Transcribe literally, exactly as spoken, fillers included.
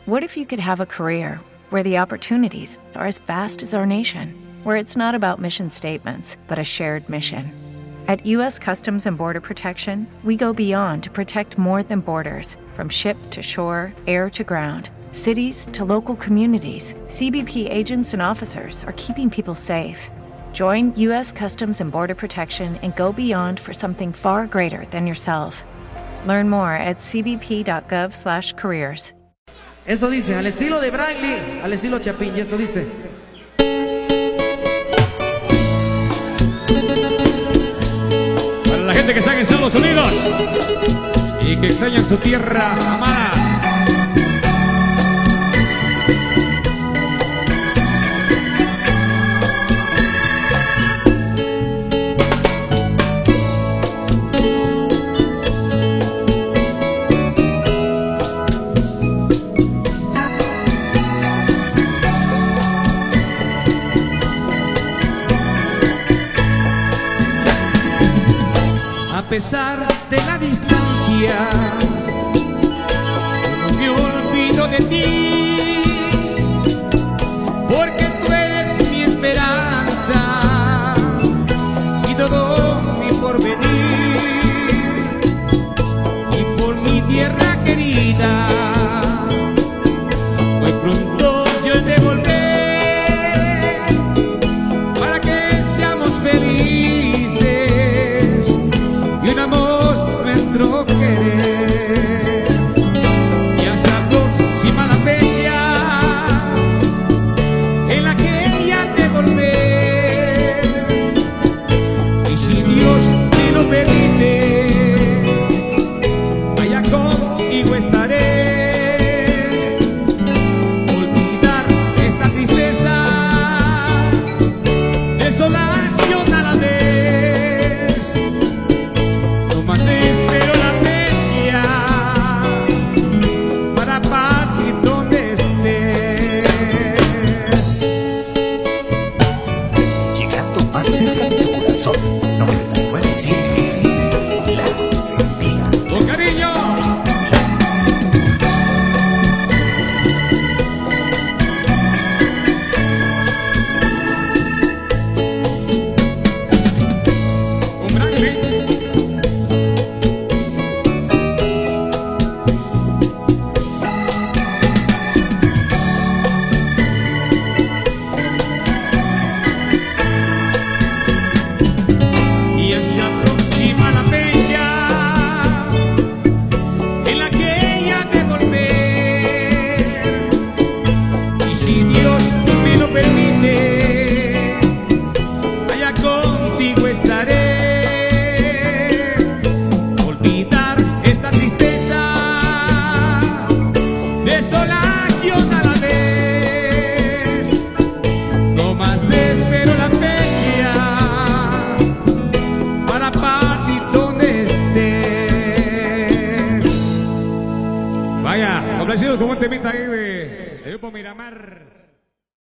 What if you could have a career where the opportunities are as vast as our nation, where it's not about mission statements, but a shared mission? At U S Customs and Border Protection, we go beyond to protect more than borders. From ship to shore, air to ground, cities to local communities, C B P agents and officers are keeping people safe. Join U S Customs and Border Protection and go beyond for something far greater than yourself. Learn more at c b p dot gov slash careers. Eso dice, al estilo de Brian Lee, al estilo Chapín, y eso dice. Para la gente que está en Estados Unidos y que extrañan su tierra amada. A pesar de la distancia, no me olvido de ti, porque tú eres mi esperanza y todo mi porvenir, y por mi tierra querida, muy pronto yo te volveré para que seamos felices. Y unamos nuestro querer, y hasta próxima la fecha en la que ya te volver. Y si Dios te lo permite, allá contigo estaré. Olvidar esta tristeza, desolación a la vez. Espero la fecha para partir donde estés. Llegando más cerca de tu corazón, noventa y nueve siete, La Sentía. Con cariño. Un gran grito. Contigo estaré. Olvidar esta tristeza, desolación a la vez. No más espero la fecha para partir donde estés. Vaya, complacidos con un temita ahí de, de Grupo Miramar.